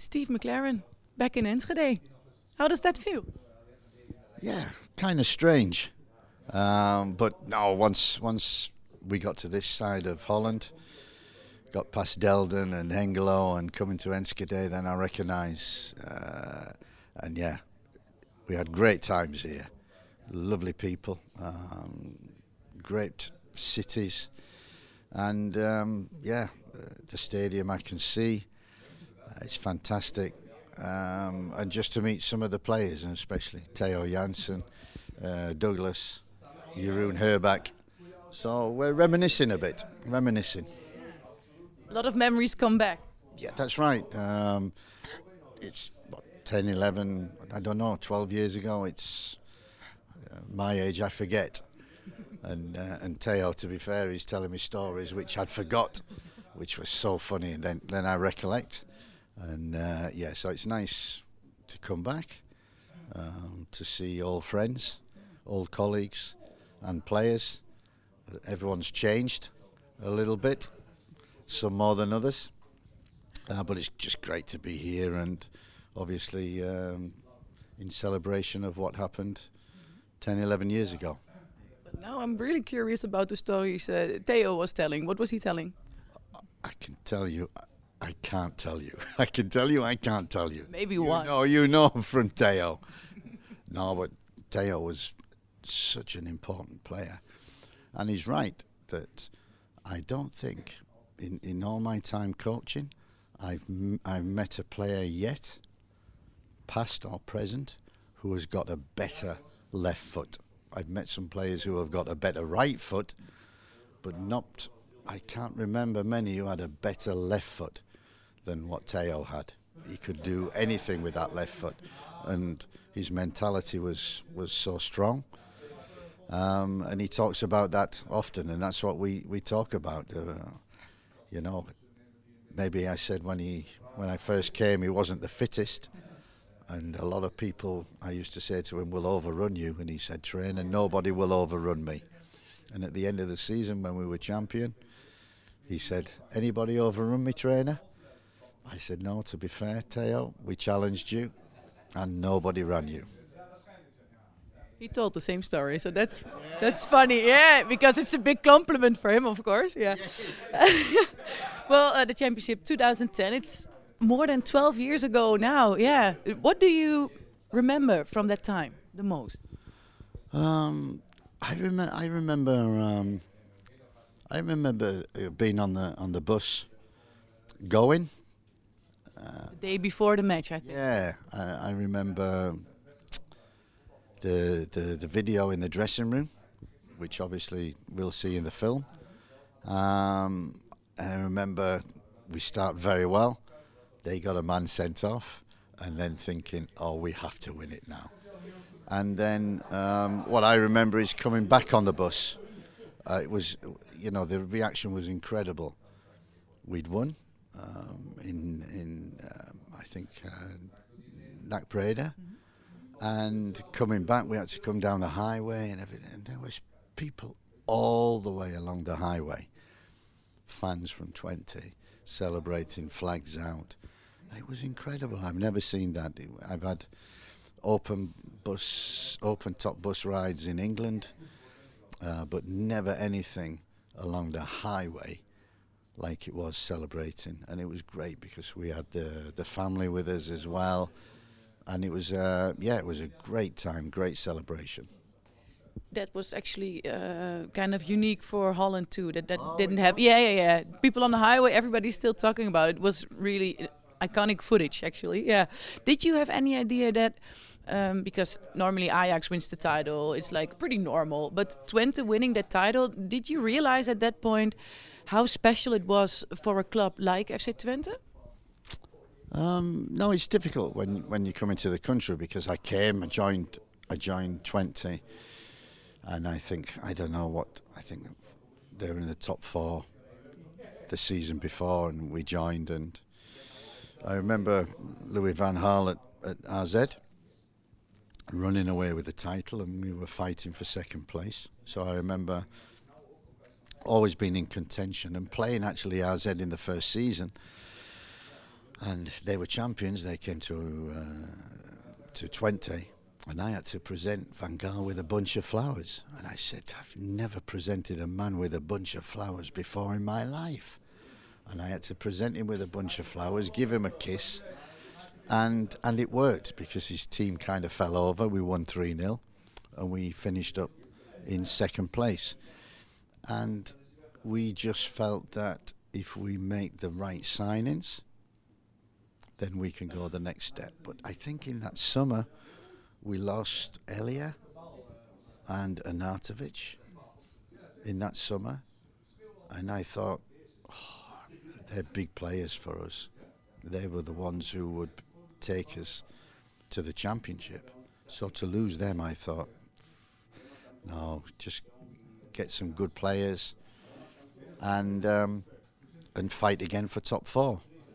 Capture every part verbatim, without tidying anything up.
Steve McLaren back in Enschede. How does that feel? Yeah, kind of strange. Um, but no, once once we got to this side of Holland, got past Delden and Hengelo and coming to Enschede, then I recognise, uh, and yeah, we had great times here. Lovely people, um, great cities, and um, yeah, the stadium I can see, uh, it's fantastic. Um, and just to meet some of the players, and especially Theo Jansen, uh, Douglas, Jeroen Herbach. So we're reminiscing a bit, reminiscing. A lot of memories come back. Yeah, that's right. Um, it's what, ten, eleven, I don't know, twelve years ago. It's uh, my age, I forget. And uh, and Theo, to be fair, he's telling me stories which I'd forgot, which was so funny. And then, then I recollect. And uh, yeah, so it's nice to come back, um, to see old friends, old colleagues and players. Everyone's changed a little bit, some more than others. Uh, but it's just great to be here, and obviously um, in celebration of what happened ten, eleven years ago. But now I'm really curious about the stories uh, Theo was telling. What was he telling? I can tell you, I can't tell you. I can tell you, I can't tell you. Maybe you one. No, you know from Theo. No, but Theo was such an important player. And he's right that I don't think in, in all my time coaching I've m- I've met a player yet, past or present, who has got a better left foot. I've met some players who have got a better right foot, but not, I can't remember many who had a better left foot than what Theo had. He could do anything with that left foot, and his mentality was, was so strong. Um, and he talks about that often, and that's what we, we talk about. Uh, you know, maybe I said when he when I first came he wasn't the fittest, and a lot of people, I used to say to him, will overrun you, and he said, trainer, nobody will overrun me. And at the end of the season when we were champion, he said, anybody overrun me, trainer? I said, no, to be fair, Theo, we challenged you and nobody ran you. He told the same story, so that's that's funny, yeah, because it's a big compliment for him, of course, yeah. Well, uh, the championship twenty ten, it's more than twelve years ago now, yeah. What do you remember from that time the most? Um, I remember. I remember. Um, I remember being on the on the bus, going. Uh, the day before the match, I think. Yeah, I, I remember. The, the the video in the dressing room, which obviously we'll see in the film. Um, and I remember we start very well. They got a man sent off, and then thinking, oh, we have to win it now. And then um, what I remember is coming back on the bus. Uh, it was, you know, the reaction was incredible. We'd won um, in, in um, I think, uh, Nac Breda. Mm-hmm. And coming back, we had to come down the highway and everything. And there was people all the way along the highway, fans from twenty, celebrating, flags out. It was incredible. I've never seen that. I've had open bus, open top bus rides in England, uh, but never anything along the highway like it was celebrating. And it was great because we had the the family with us as well. And it was, uh, yeah, it was a great time, great celebration. That was actually uh, kind of unique for Holland too. That that oh, didn't have, yeah, yeah, yeah. People on the highway, everybody's still talking about it. It was really iconic footage, actually. Yeah. Did you have any idea that, um, because normally Ajax wins the title, it's like pretty normal. But Twente winning that title, did you realize at that point how special it was for a club like F C Twente? Um, no, it's difficult when, when you come into the country because I came, I joined, I joined Twente, and I think I don't know what I think they were in the top four the season before, and we joined, and I remember Louis van Gaal at, at R Z running away with the title, and we were fighting for second place. So I remember always being in contention and playing actually R Z in the first season. and they were champions. They came to uh, to Twente, and I had to present Van Gaal with a bunch of flowers. And I said, I've never presented a man with a bunch of flowers before in my life. And I had to present him with a bunch of flowers, give him a kiss, and and it worked because his team kind of fell over. We won three nil, and we finished up in second place. And we just felt that if we make the right signings, then we can go the next step. But I think in that summer, we lost Elia and Arnautovic in that summer. And I thought, oh, they're big players for us. They were the ones who would take us to the championship. So to lose them, I thought, no, just get some good players and um, and fight again for top four.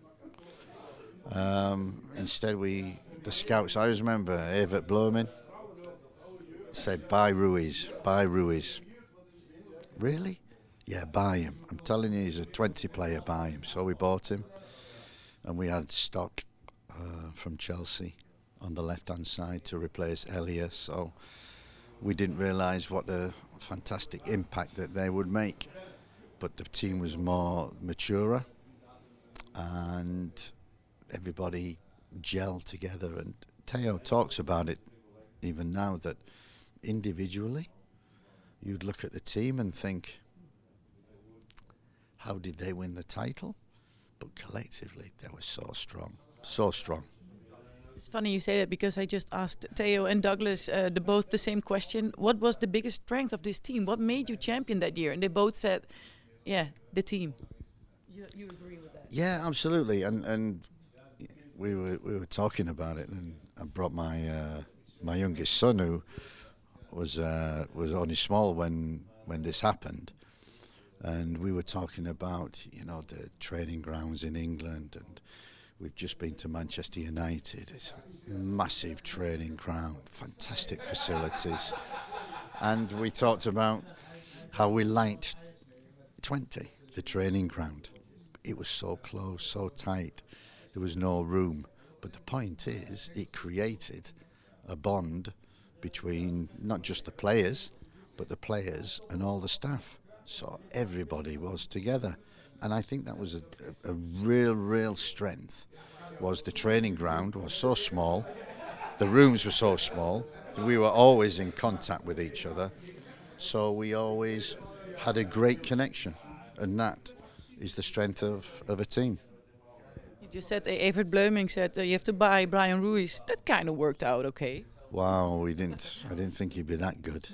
Um, instead, we the scouts. I always remember Evert Bloemen said, "Buy Ruiz, buy Ruiz." Really? Yeah, buy him. I'm telling you, he's a twenty player. Buy him. So we bought him, and we had stock uh, from Chelsea on the left-hand side to replace Elias. So we didn't realise what a fantastic impact that they would make. But the team was more mature, and everybody gelled together. And Theo talks about it even now, that individually you'd look at the team and think, how did they win the title? But collectively they were so strong, so strong. It's funny you say that, because I just asked Theo and Douglas uh, the both the same question. What was the biggest strength of this team? What made you champion that year? And they both said, yeah, the team. You, you agree with that? Yeah, absolutely. And and we were we were talking about it, and I brought my uh, my youngest son, who was uh, was only small when when this happened, and we were talking about, you know, the training grounds in England, and we've just been to Manchester United. It's a massive training ground, fantastic facilities, and we talked about how we liked Twente, the training ground. It was so close, so tight. There was no room. But the point is, it created a bond between not just the players, but the players and all the staff. So everybody was together. And I think that was a, a, a real, real strength, was the training ground was so small, the rooms were so small, that we were always in contact with each other. So we always had a great connection, and that is the strength of, of a team. You just said, uh, Evert Bleuming said uh, you have to buy Brian Ruiz. That kind of worked out okay. Wow, we didn't. I didn't think he'd be that good,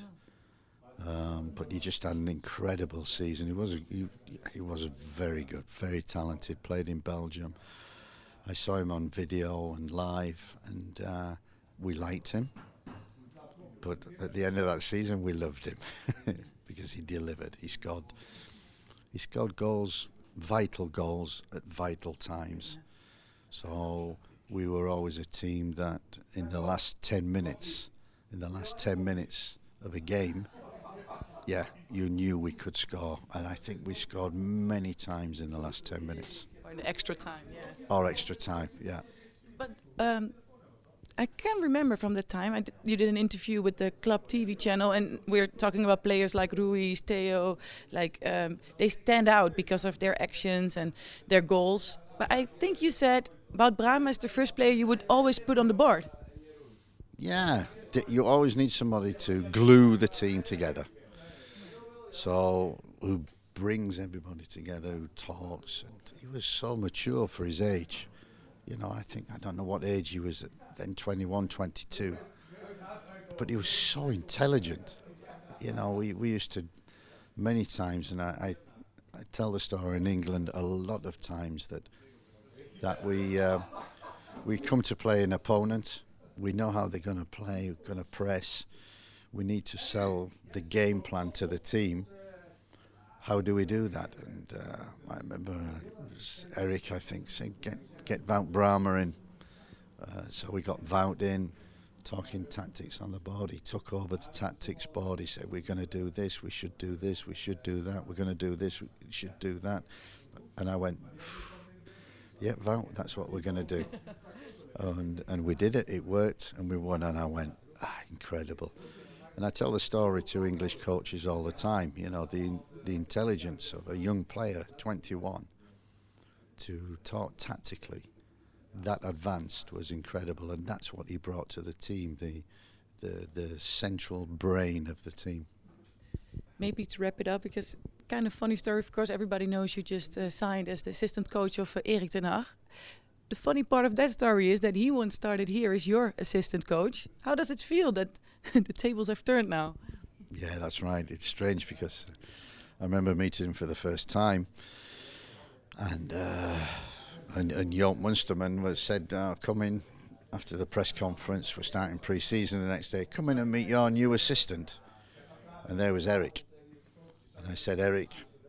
um, but he just had an incredible season. He was a, he, he was very good, very talented. Played in Belgium. I saw him on video and live, and uh, we liked him. But at the end of that season, we loved him because he delivered. He scored. He scored goals, vital goals at vital times. So we were always a team that, in the last ten minutes, in the last ten minutes of a game, yeah, you knew we could score, and I think we scored many times in the last ten minutes. Or in the extra time, yeah. Or extra time, yeah. But um, I can remember from the time I d you did an interview with the Club T V channel, and we're talking about players like Ruiz, Theo, like um, they stand out because of their actions and their goals. But I think you said about Brahma as the first player you would always put on the board. Yeah, you always need somebody to glue the team together. So who brings everybody together, who talks, and he was so mature for his age. You know, I think, I don't know what age he was at then, twenty-one, twenty-two. But he was so intelligent. You know, we, we used to, many times, and I, I, I tell the story in England a lot of times, that that we uh, we come to play an opponent, we know how they're going to play, we're going to press, we need to sell the game plan to the team. How do we do that? And uh, I remember uh, it was Eric, I think, said, get, get Wout Brahma in. Uh, so we got Wout in, talking tactics on the board. He took over the tactics board. He said, we're going to do this, we should do this, we should do that, we're going to do this, we should do that. And I went, yeah, Wout, that's what we're going to do. And, and we did it, it worked, and we won, and I went, ah, incredible. And I tell the story to English coaches all the time, you know, the the intelligence of a young player, twenty-one, to talk tactically, that advanced was incredible, and that's what he brought to the team, the the, the central brain of the team. Maybe to wrap it up, because kind of funny story, of course, everybody knows you just uh, signed as the assistant coach of uh, Erik ten Hag. The funny part of that story is that he once started here as your assistant coach. How does it feel that the tables have turned now? Yeah, that's right. It's strange because I remember meeting him for the first time, and uh, and, and Joop Munsterman was said, uh, "Come in after the press conference. We're starting pre-season the next day. Come in and meet your new assistant." And there was Erik, and I said, "Erik,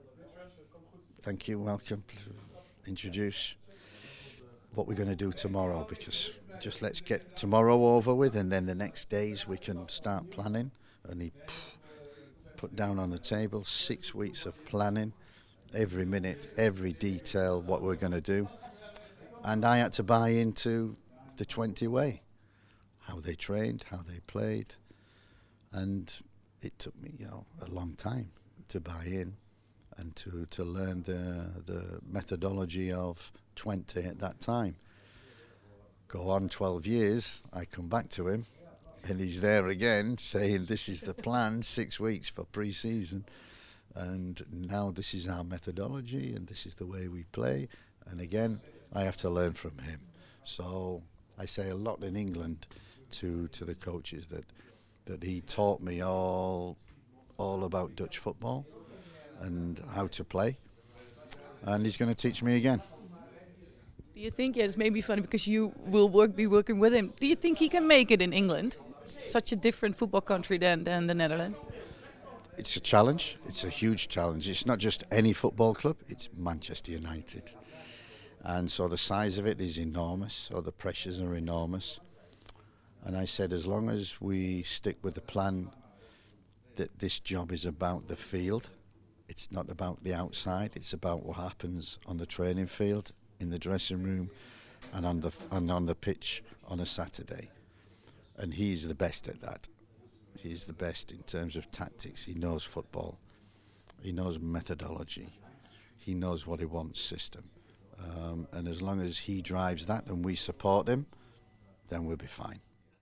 thank you, welcome. Introduce what we're going to do tomorrow, because just let's get tomorrow over with, and then the next days we can start planning." And he put down on the table six weeks of planning, every minute, every detail, what we're going to do. And I had to buy into the twenty way, how they trained, how they played. And it took me, you know, a long time to buy in and to, to learn the, the methodology of twenty at that time. Go on twelve years, I come back to him, and he's there again saying, "This is the plan, six weeks for pre-season, and now this is our methodology, and this is the way we play." And again, I have to learn from him. So I say a lot in England to to the coaches that that he taught me all all about Dutch football and how to play, and he's going to teach me again. Do you think, yeah, it's maybe funny because you will work, be working with him. Do you think he can make it in England? It's such a different football country than, than the Netherlands. It's a challenge. It's a huge challenge. It's not just any football club. It's Manchester United. And so the size of it is enormous. So the pressures are enormous. And I said, as long as we stick with the plan that this job is about the field, it's not about the outside. It's about what happens on the training field, in the dressing room, and on the and on the pitch on a Saturday. And he's the best at that. He's the best in terms of tactics. He knows football. He knows methodology. He knows what he wants system. Um, and as long as he drives that and we support him, then we'll be fine.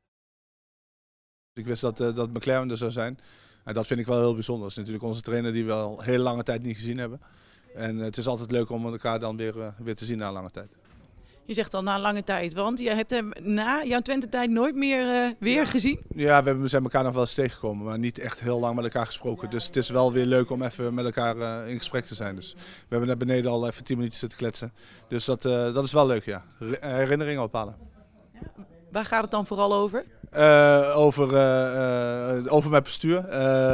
Ik wist dat, uh, dat McLaren er zou zijn. En dat vind ik wel heel bijzonder. Dat is natuurlijk onze trainer die we al een hele lange tijd niet gezien hebben. En uh, het is altijd leuk om elkaar dan weer, uh, weer te zien na een lange tijd. Je zegt al na een lange tijd, want je hebt hem na jouw Twente-tijd nooit meer uh, weer gezien? Ja, we hebben, zijn elkaar nog wel eens tegengekomen, maar niet echt heel lang met elkaar gesproken. Dus het is wel weer leuk om even met elkaar uh, in gesprek te zijn. Dus we hebben net beneden al even tien minuten zitten kletsen. Dus dat, uh, dat is wel leuk, ja. Herinneringen ophalen. Ja, waar gaat het dan vooral over? Uh, over, uh, uh, over mijn bestuur.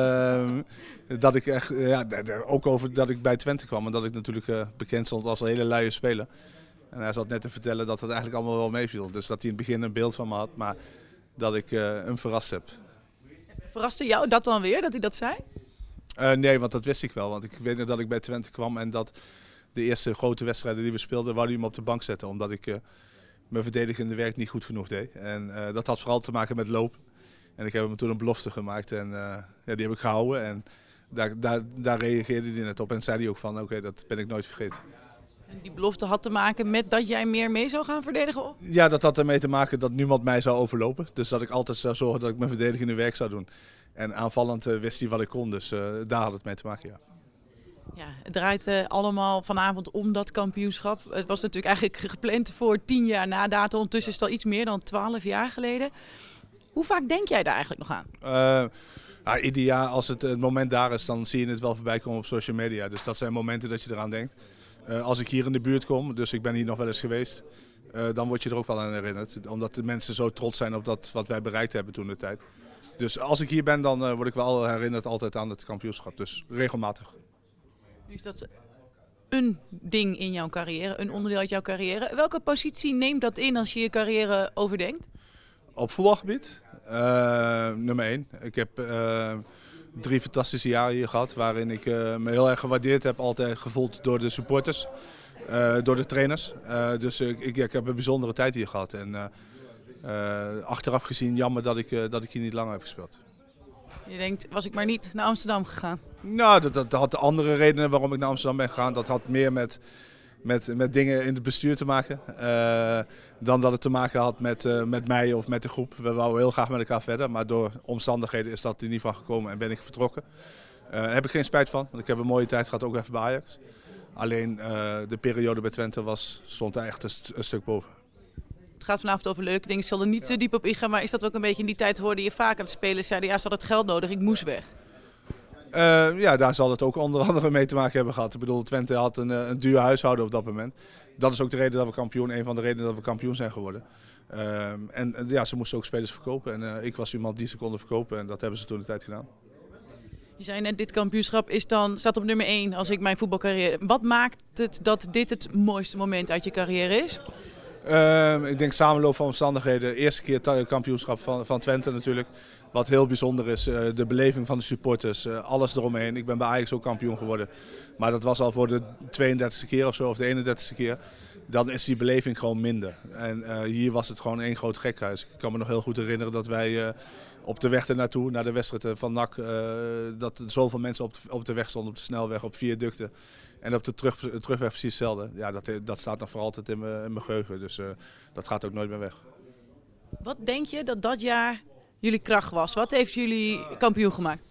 Uh, dat ik echt, ja, ook over dat ik bij Twente kwam en dat ik natuurlijk uh, bekend stond als een hele luie speler. En hij zat net te vertellen dat het eigenlijk allemaal wel meeviel. Dus dat hij in het begin een beeld van me had, maar dat ik uh, hem verrast heb. Verraste jou dat dan weer, dat hij dat zei? Uh, nee, want dat wist ik wel. Want ik weet nog dat ik bij Twente kwam en dat de eerste grote wedstrijden die we speelden, wou hij hem op de bank zetten. Omdat ik uh, mijn verdedigende werk niet goed genoeg deed. En uh, dat had vooral te maken met lopen. En ik heb hem toen een belofte gemaakt en uh, ja, die heb ik gehouden. En daar, daar, daar reageerde hij net op en zei hij ook van oké, okay, dat ben ik nooit vergeten. En die belofte had te maken met dat jij meer mee zou gaan verdedigen? Of? Ja, dat had ermee te maken dat niemand mij zou overlopen. Dus dat ik altijd zou zorgen dat ik mijn verdedigende werk zou doen. En aanvallend uh, wist hij wat ik kon, dus uh, daar had het mee te maken, ja. Ja, het draait uh, allemaal vanavond om dat kampioenschap. Het was natuurlijk eigenlijk gepland voor tien jaar na datum. Ondertussen is het al iets meer dan twaalf jaar geleden. Hoe vaak denk jij daar eigenlijk nog aan? Uh, ja, ieder jaar als het, het moment daar is, dan zie je het wel voorbij komen op social media. Dus dat zijn momenten dat je eraan denkt. Uh, als ik hier in de buurt kom, dus ik ben hier nog wel eens geweest, uh, dan word je er ook wel aan herinnerd. Omdat de mensen zo trots zijn op dat wat wij bereikt hebben toen de tijd. Dus als ik hier ben, dan uh, word ik wel herinnerd altijd aan het kampioenschap. Dus regelmatig. Nu is dat een ding in jouw carrière, een onderdeel uit jouw carrière. Welke positie neemt dat in als je je carrière overdenkt? Op voetbalgebied? Uh, nummer één. Ik heb uh, drie fantastische jaren hier gehad, waarin ik uh, me heel erg gewaardeerd heb, altijd gevoeld door de supporters. uh, door de trainers. Uh, dus uh, ik, ik heb een bijzondere tijd hier gehad. En uh, uh, achteraf gezien jammer dat ik, uh, dat ik hier niet langer heb gespeeld. Je denkt, was ik maar niet naar Amsterdam gegaan? Nou, dat, dat had andere redenen waarom ik naar Amsterdam ben gegaan. Dat had meer met, met, met dingen in het bestuur te maken. Uh, dan dat het te maken had met, uh, met mij of met de groep. We wouden heel graag met elkaar verder. Maar door omstandigheden is dat er niet van gekomen en ben ik vertrokken. Uh, daar heb ik geen spijt van. Want ik heb een mooie tijd gehad, ook even bij Ajax. Alleen uh, de periode bij Twente was, stond er echt een, st een stuk boven. Het gaat vanavond over leuke dingen. Ik zal er niet te diep op ingaan. Maar is dat ook een beetje in die tijd hoorde je vaak aan de spelers zeiden, ja, ze hadden het geld nodig, ik moest weg. Uh, ja, daar zal het ook onder andere mee te maken hebben gehad. Ik bedoel, Twente had een, een duur huishouden op dat moment. Dat is ook de reden dat we kampioen, een van de redenen dat we kampioen zijn geworden. Uh, en ja, ze moesten ook spelers verkopen. En uh, ik was iemand die ze konden verkopen en dat hebben ze toen de tijd gedaan. Je zei net, dit kampioenschap is dan, staat op nummer één als ik mijn voetbalcarrière. Wat maakt het dat dit het mooiste moment uit je carrière is? Uh, ik denk samenloop van omstandigheden. Eerste keer kampioenschap van, van Twente natuurlijk. Wat heel bijzonder is, uh, de beleving van de supporters, uh, alles eromheen. Ik ben bij Ajax ook kampioen geworden. Maar dat was al voor de tweeëndertigste keer of zo, of de eenendertigste keer. Dan is die beleving gewoon minder. En uh, hier was het gewoon één groot gekhuis. Ik kan me nog heel goed herinneren dat wij uh, op de weg ernaartoe, naar de wedstrijd van N A C, uh, dat er zoveel mensen op de, op de weg stonden, op de snelweg, op viaducten. En op de terug, terugweg precies hetzelfde. Ja, dat, dat staat nog voor altijd in mijn, in mijn geheugen. Dus uh, dat gaat ook nooit meer weg. Wat denk je dat dat jaar jullie kracht was? Wat heeft jullie kampioen gemaakt?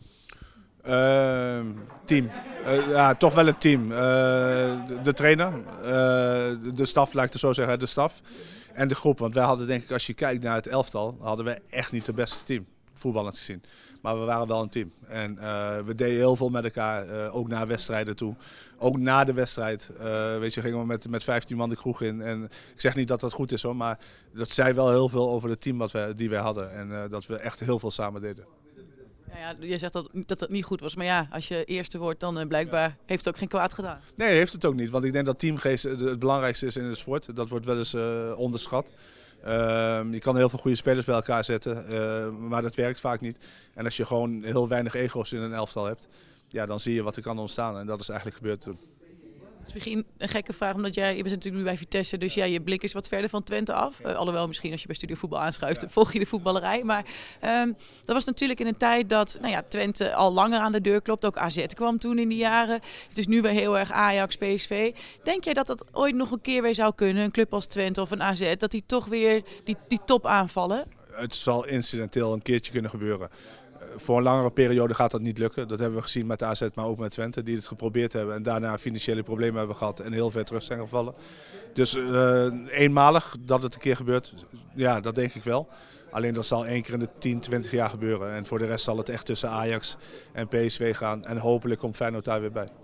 Uh, team. Uh, ja, toch wel het team. Uh, de, de trainer, uh, de staf, laat ik het zo zeggen, de staf. En de groep. Want wij hadden, denk ik, als je kijkt naar het elftal, hadden we echt niet het beste team. Voetballend gezien. Maar we waren wel een team. En uh, we deden heel veel met elkaar, uh, ook naar wedstrijden toe. Ook na de wedstrijd, uh, weet je, gingen we met, met vijftien man de kroeg in. En ik zeg niet dat dat goed is hoor, maar dat zei wel heel veel over het team wat we, die wij hadden. En uh, dat we echt heel veel samen deden. Ja, ja, je zegt dat, dat het niet goed was, maar ja, als je eerste wordt, dan uh, blijkbaar heeft het ook geen kwaad gedaan. Nee, heeft het ook niet. Want ik denk dat teamgeest het belangrijkste is in de sport. Dat wordt wel eens uh, onderschat. Uh, je kan heel veel goede spelers bij elkaar zetten, uh, maar dat werkt vaak niet. En als je gewoon heel weinig ego's in een elftal hebt, ja, dan zie je wat er kan ontstaan. En dat is eigenlijk gebeurd toen. Het is misschien een gekke vraag, omdat jij, je bent natuurlijk nu bij Vitesse, dus ja, je blik is wat verder van Twente af. Uh, alhoewel misschien als je bij Studio Voetbal aanschuift, ja, volg je de voetballerij. Maar um, dat was natuurlijk in een tijd dat nou ja, Twente al langer aan de deur klopt. Ook A Z kwam toen in die jaren. Het is nu weer heel erg Ajax, P S V. Denk jij dat dat ooit nog een keer weer zou kunnen, een club als Twente of een A Z, dat die toch weer die, die top aanvallen? Het zal incidenteel een keertje kunnen gebeuren. Voor een langere periode gaat dat niet lukken. Dat hebben we gezien met A Z, maar ook met Twente, die het geprobeerd hebben en daarna financiële problemen hebben gehad en heel ver terug zijn gevallen. Dus uh, eenmalig dat het een keer gebeurt, ja, dat denk ik wel. Alleen dat zal één keer in de tien, twintig jaar gebeuren. En voor de rest zal het echt tussen Ajax en P S V gaan en hopelijk komt Feyenoord daar weer bij.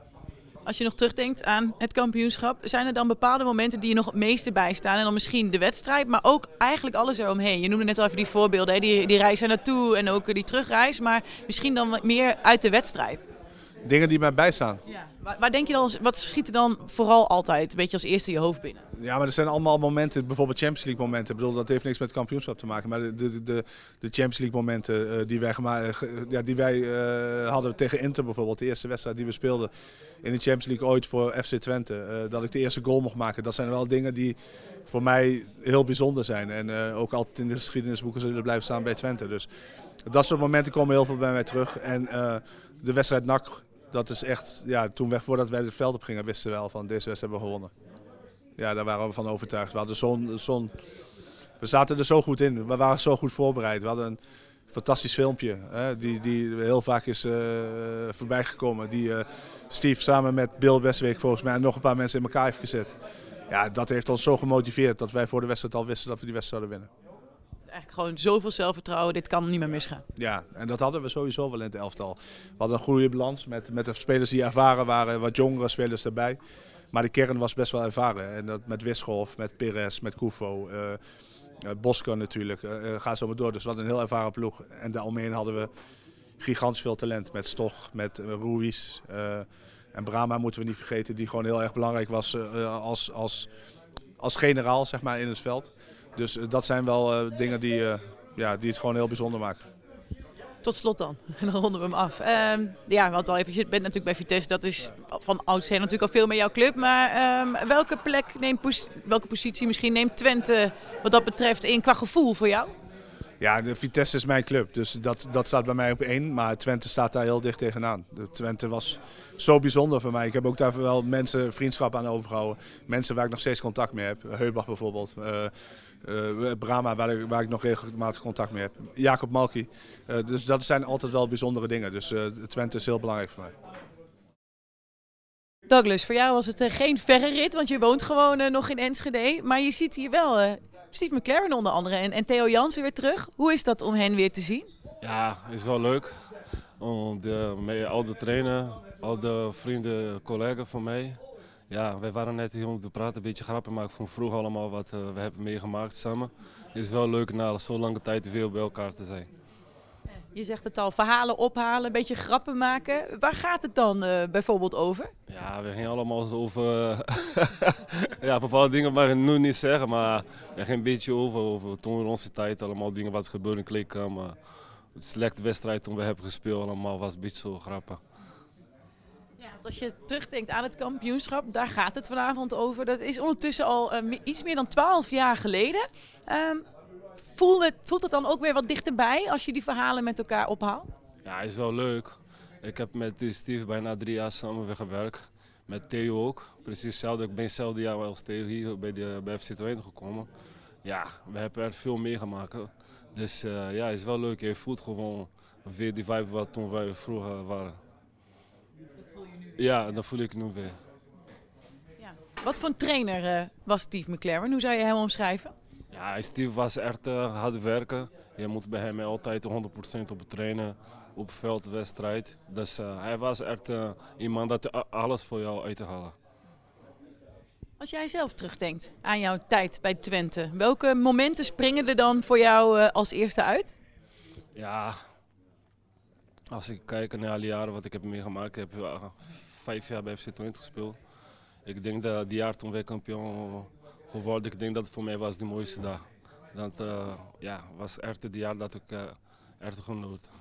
Als je nog terugdenkt aan het kampioenschap, zijn er dan bepaalde momenten die je nog het meeste bijstaan? En dan misschien de wedstrijd, maar ook eigenlijk alles eromheen. Je noemde net al even die voorbeelden, hè? Die, die reis er naartoe en ook die terugreis. Maar misschien dan wat meer uit de wedstrijd. Dingen die mij bijstaan. Ja. Waar, waar denk je dan, wat schiet er dan vooral altijd een beetje als eerste in je hoofd binnen? Ja, maar er zijn allemaal momenten, bijvoorbeeld Champions League momenten. Ik bedoel, dat heeft niks met het kampioenschap te maken. Maar de, de, de, de Champions League momenten uh, die wij, uh, ja, die wij uh, hadden tegen Inter bijvoorbeeld. De eerste wedstrijd die we speelden in de Champions League ooit voor F C Twente. Uh, dat ik de eerste goal mocht maken. Dat zijn wel dingen die voor mij heel bijzonder zijn. En uh, ook altijd in de geschiedenisboeken zullen blijven staan bij Twente. Dus dat soort momenten komen heel veel bij mij terug. En uh, de wedstrijd N A C. Dat is echt, ja, toen we, voordat wij het veld op gingen, wisten we wel van deze wedstrijd hebben we gewonnen. Ja, daar waren we van overtuigd. We, hadden zo'n, zo'n, we zaten er zo goed in, we waren zo goed voorbereid. We hadden een fantastisch filmpje, hè, die, die heel vaak is uh, voorbij gekomen. Die uh, Steve samen met Bill Bestweek volgens mij en nog een paar mensen in elkaar heeft gezet. Ja, dat heeft ons zo gemotiveerd dat wij voor de wedstrijd al wisten dat we die wedstrijd zouden winnen. Eigenlijk gewoon zoveel zelfvertrouwen, dit kan niet meer misgaan. Ja, en dat hadden we sowieso wel in het elftal. We hadden een goede balans met, met de spelers die ervaren waren, wat jongere spelers erbij. Maar de kern was best wel ervaren. En dat met Wisselhof, met Perez, met Koufo, uh, uh, Bosco natuurlijk, uh, ga zo maar door. Dus we hadden een heel ervaren ploeg. En daaromheen hadden we gigantisch veel talent met Stoch, met uh, Ruiz. Uh, en Brahma moeten we niet vergeten, die gewoon heel erg belangrijk was uh, als, als, als generaal zeg maar, in het veld. Dus uh, dat zijn wel uh, dingen die, uh, ja, die het gewoon heel bijzonder maken. Tot slot dan. En dan ronden we hem af. Um, ja, want al even, je bent natuurlijk bij Vitesse. Dat is van oudsher natuurlijk al veel meer jouw club. Maar um, welke plek neemt, welke positie misschien neemt Twente wat dat betreft in qua gevoel voor jou? Ja, de Vitesse is mijn club. Dus dat, dat staat bij mij op één. Maar Twente staat daar heel dicht tegenaan. De Twente was zo bijzonder voor mij. Ik heb ook daar wel mensen vriendschap aan overgehouden. Mensen waar ik nog steeds contact mee heb. Heubach bijvoorbeeld. Uh, Uh, Brahma, waar ik, waar ik nog regelmatig contact mee heb. Jacob Malki. Uh, dus dat zijn altijd wel bijzondere dingen. Dus uh, Twente is heel belangrijk voor mij. Douglas, voor jou was het uh, geen verre rit, want je woont gewoon uh, nog in Enschede. Maar je ziet hier wel uh, Steve McLaren onder andere en, en Theo Jansen weer terug. Hoe is dat om hen weer te zien? Ja, is wel leuk. Om de, met al de trainer, al de vrienden, collega's van mij. Ja, wij waren net hier om te praten, een beetje grappen maken van vroeger allemaal wat uh, we hebben meegemaakt samen. Het is wel leuk na zo'n lange tijd weer bij elkaar te zijn. Je zegt het al, verhalen ophalen, een beetje grappen maken. Waar gaat het dan uh, bijvoorbeeld over? Ja, we gingen allemaal zo over... ja, bepaalde dingen mag ik nu niet zeggen, maar we gingen een beetje over, over toen in onze tijd allemaal dingen wat gebeurde in kleedkamer. Het selecte wedstrijd toen we hebben gespeeld allemaal was een beetje zo grappig. Ja, als je terugdenkt aan het kampioenschap, daar gaat het vanavond over. Dat is ondertussen al uh, iets meer dan twaalf jaar geleden. Um, voelt, het, voelt het dan ook weer wat dichterbij als je die verhalen met elkaar ophaalt? Ja, is wel leuk. Ik heb met Steve bijna drie jaar samen gewerkt. Met Theo ook. Precies hetzelfde. Ik ben hetzelfde jaar als Theo hier bij, de, bij F C Twente gekomen. Ja, we hebben er veel meegemaakt. Dus uh, ja, is wel leuk. Je voelt gewoon weer die vibe wat toen wij vroeger waren. Ja, dat voel ik nu weer. Ja. Wat voor een trainer uh, was Steve McLaren? Hoe zou je hem omschrijven? Ja, Steve was echt uh, hard werken. Je moet bij hem altijd honderd procent op trainen, op veld, wedstrijd. Dus uh, hij was echt uh, iemand dat alles voor jou uit te halen. Als jij zelf terugdenkt aan jouw tijd bij Twente, welke momenten springen er dan voor jou uh, als eerste uit? Ja, als ik kijk naar alle jaren wat ik heb meegemaakt, ik heb uh, vijf jaar bij F C Twente gespeeld. Ik denk dat die jaar toen wij kampioen geworden, ik denk dat het voor mij was de mooiste dag. Dat uh, ja, was echt het jaar dat ik uh, echt genoot.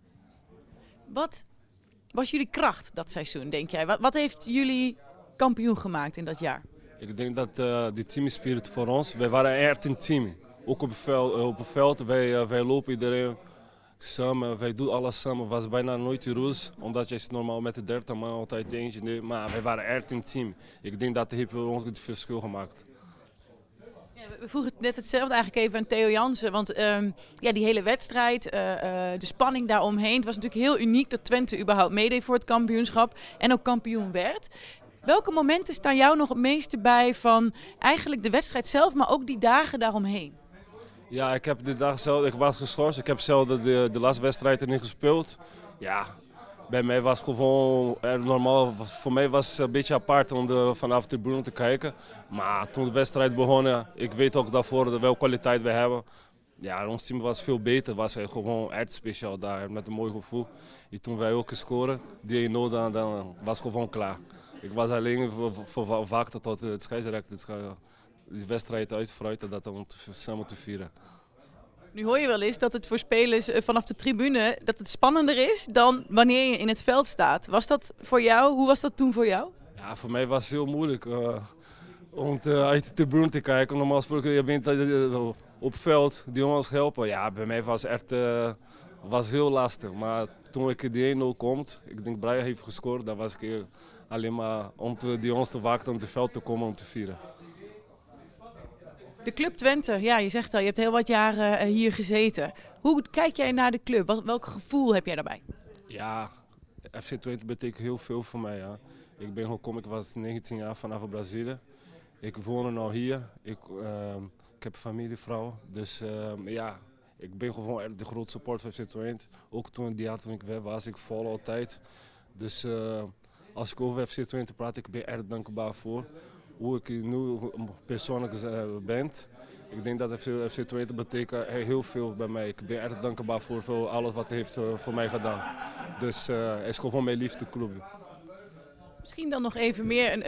Wat was jullie kracht dat seizoen, denk jij? Wat, wat heeft jullie kampioen gemaakt in dat jaar? Ik denk dat uh, de teamspirit voor ons, wij waren echt een team. Ook op het veld, op het veld wij, uh, wij lopen iedereen samen, wij doen alles samen. Het was bijna nooit de ruzie, omdat je normaal met de dertig man altijd eentje neemt. Maar wij waren echt een team. Ik denk dat heeft ons het verschil gemaakt. Ja, we vroegen net hetzelfde eigenlijk even aan Theo Jansen. Want um, ja, die hele wedstrijd, uh, uh, de spanning daaromheen. Het was natuurlijk heel uniek dat Twente überhaupt meedeed voor het kampioenschap. En ook kampioen werd. Welke momenten staan jou nog het meeste bij van eigenlijk de wedstrijd zelf, maar ook die dagen daaromheen? Ja, ik heb de dag zelf, ik was geschorst. Ik heb zelf de, de, de laatste wedstrijd er niet gespeeld. Ja, bij mij was het gewoon normaal. Voor mij was het een beetje apart om de, vanaf de tribune te kijken. Maar toen de wedstrijd begon, ik weet ook daarvoor welke kwaliteit we hebben. Ja, ons team was veel beter. Was gewoon echt speciaal daar, met een mooi gevoel. En toen wij ook scoren, die één nul, dan, dan was het gewoon klaar. Ik was alleen voor wachten tot het scheidsrechter de wedstrijd uitfruiten dat om te, samen te vieren. Nu hoor je wel eens dat het voor spelers vanaf de tribune dat het spannender is dan wanneer je in het veld staat. Was dat voor jou? Hoe was dat toen voor jou? Ja, voor mij was het heel moeilijk uh, om te, uit de tribune te kijken. Normaal gesproken, je bent uh, op het veld, die jongens helpen. Ja, bij mij was het echt uh, was heel lastig. Maar toen ik die één nul komt, ik denk Brian heeft gescoord, dan was ik uh, alleen maar om te, die jongens te wachten om het veld te komen om te vieren. De Club Twente, ja, je zegt al, je hebt heel wat jaren uh, hier gezeten. Hoe kijk jij naar de club? Wat, welk gevoel heb jij daarbij? Ja, F C Twente betekent heel veel voor mij. Ja. Ik ben gekomen, ik was negentien jaar vanaf Brazilië. Ik woon nu hier. Ik, uh, ik heb een familievrouw. Dus uh, ja, ik ben gewoon de grote support van F C Twente. Ook toen die jaar toen ik weg was, ik volg altijd. Dus uh, als ik over F C Twente praat, ik ben erg dankbaar voor. Hoe ik nu persoonlijk ben. Ik denk dat F C Twente betekent heel veel bij mij. Ik ben erg dankbaar voor, voor alles wat hij heeft voor mij gedaan. Dus uh, het is gewoon mijn liefde club. Misschien dan nog even meer een, een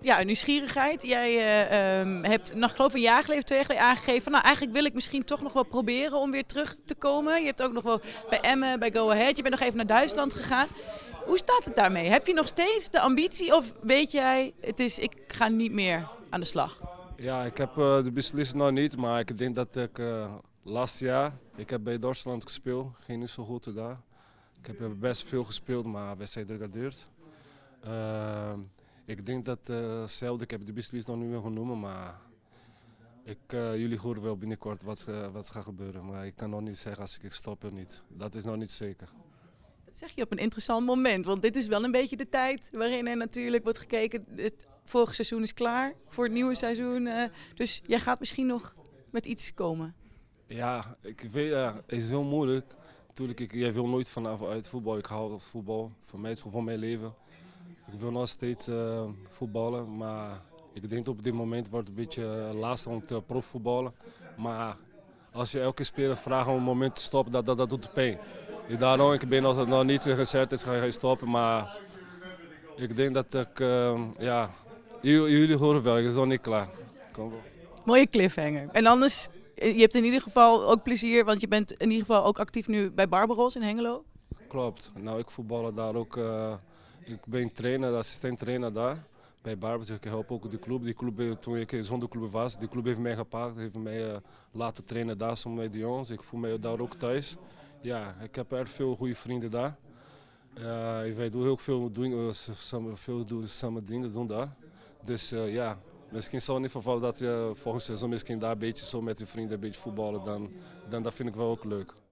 ja, nieuwsgierigheid. Jij uh, um, hebt nog geloof ik een jaar geleden, twee jaar geleden aangegeven van, nou eigenlijk wil ik misschien toch nog wel proberen om weer terug te komen. Je hebt ook nog wel bij Emmen, bij Go Ahead, je bent nog even naar Duitsland gegaan. Hoe staat het daarmee? Heb je nog steeds de ambitie of weet jij, het is, ik ga niet meer aan de slag? Ja, ik heb uh, de beslissing nog niet, maar ik denk dat ik uh, laatste jaar, ik heb bij Duitsland gespeeld, ging niet zo goed daar. Ik heb best veel gespeeld, maar wedstrijd degradeerd. Uh, ik denk dat uh, zelf, ik heb de beslissing nog niet meer genomen, maar ik, uh, jullie horen wel binnenkort wat, uh, wat gaat gebeuren. Maar ik kan nog niet zeggen als ik stop of niet. Dat is nog niet zeker. Dat zeg je op een interessant moment, want dit is wel een beetje de tijd waarin er natuurlijk wordt gekeken. Het vorige seizoen is klaar voor het nieuwe seizoen, uh, dus jij gaat misschien nog met iets komen. Ja, ik weet, ja, het is heel moeilijk. Natuurlijk, ik, jij wil nooit vanaf uit voetbal. Ik hou van voetbal. Voor mij is het gewoon mijn leven. Ik wil nog steeds uh, voetballen, maar ik denk op dit moment wordt het een beetje lastig om te profvoetballen. Maar als je elke speler vraagt om een moment te stoppen, dat, dat, dat doet pijn. Daarom, ik ben nog, nog niet gezegd, is ga je stoppen, maar ik denk dat ik, uh, ja, jullie, jullie horen wel, ik ben nog niet klaar. Kom wel. Mooie cliffhanger. En anders, je hebt in ieder geval ook plezier, want je bent in ieder geval ook actief nu bij Barbaros in Hengelo. Klopt. Nou, ik voetballen daar ook. Uh, ik ben trainer, assistent trainer daar bij Barbaros. Ik help ook de club. Die club, toen ik zonder club was, die club heeft mij gepakt, heeft mij uh, laten trainen daar samen met de jongens. Ik voel mij daar ook thuis. Ja, ik heb erg veel goede vrienden daar. Uh, wij doen heel veel, doen, uh, samen, veel doen, samen dingen doen daar. Dus uh, ja, misschien zal het niet geval dat je volgend seizoen misschien daar een beetje zo met je vrienden een beetje voetballen, dan, dan dat vind ik wel ook leuk.